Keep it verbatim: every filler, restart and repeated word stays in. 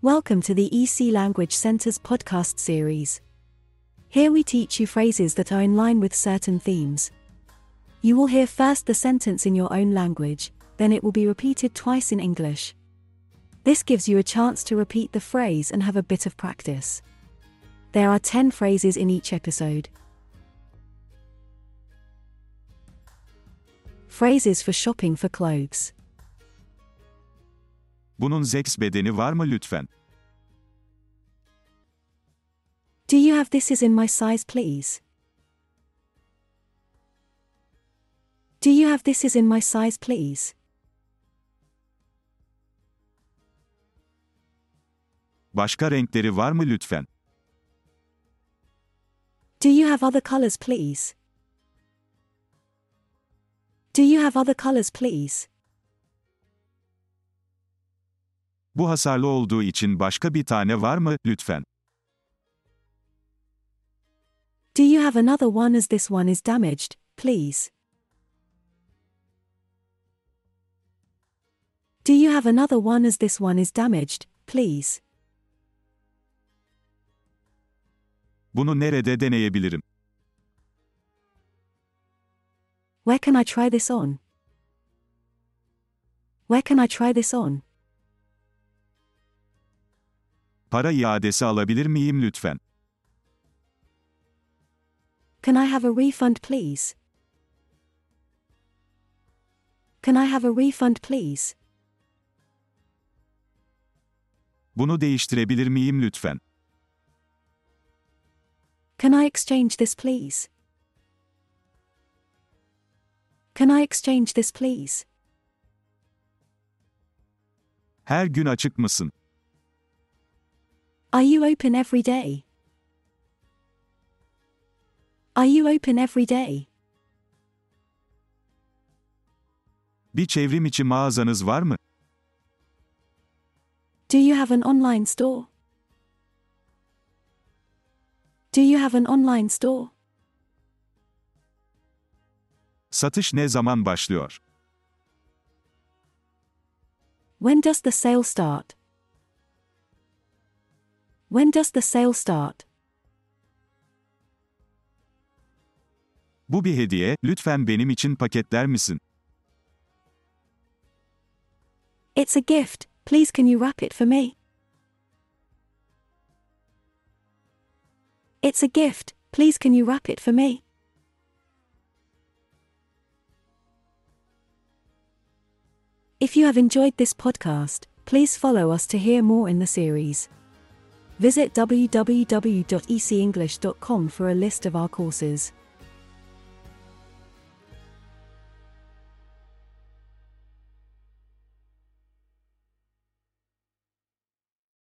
Welcome to the E C Language Center's podcast series. Here we teach you phrases that are in line with certain themes. You will hear first the sentence in your own language, then it will be repeated twice in English. This gives you a chance to repeat the phrase and have a bit of practice. There are ten phrases in each episode. Phrases for shopping for clothes. Bunun X bedeni var mı lütfen? Do you have this is in my size please? Do you have this is in my size please? Başka renkleri var mı lütfen? Do you have other colors please? Do you have other colors please? Bu hasarlı olduğu için başka bir tane var mı lütfen? Do you have another one as this one is damaged, please? Do you have another one as this one is damaged, please? Bunu nerede deneyebilirim? Where can I try this on? Where can I try this on? Para iadesi alabilir miyim lütfen? Can I have a refund please? Can I have a refund please? Bunu değiştirebilir miyim lütfen? Can I exchange this please? Can I exchange this please? Her gün açık mısın? Are you open every day? Are you open every day? Bir çevrim içi mağazanız var mı? Do you have an online store? Do you have an online store? Satış ne zaman başlıyor? When does the sale start? When does the sale start? Bu bir hediye, lütfen benim için paketler misin? It's a gift, please can you wrap it for me? It's a gift, please can you wrap it for me? If you have enjoyed this podcast, please follow us to hear more in the series. Visit w w w dot e c english dot com for a list of our courses.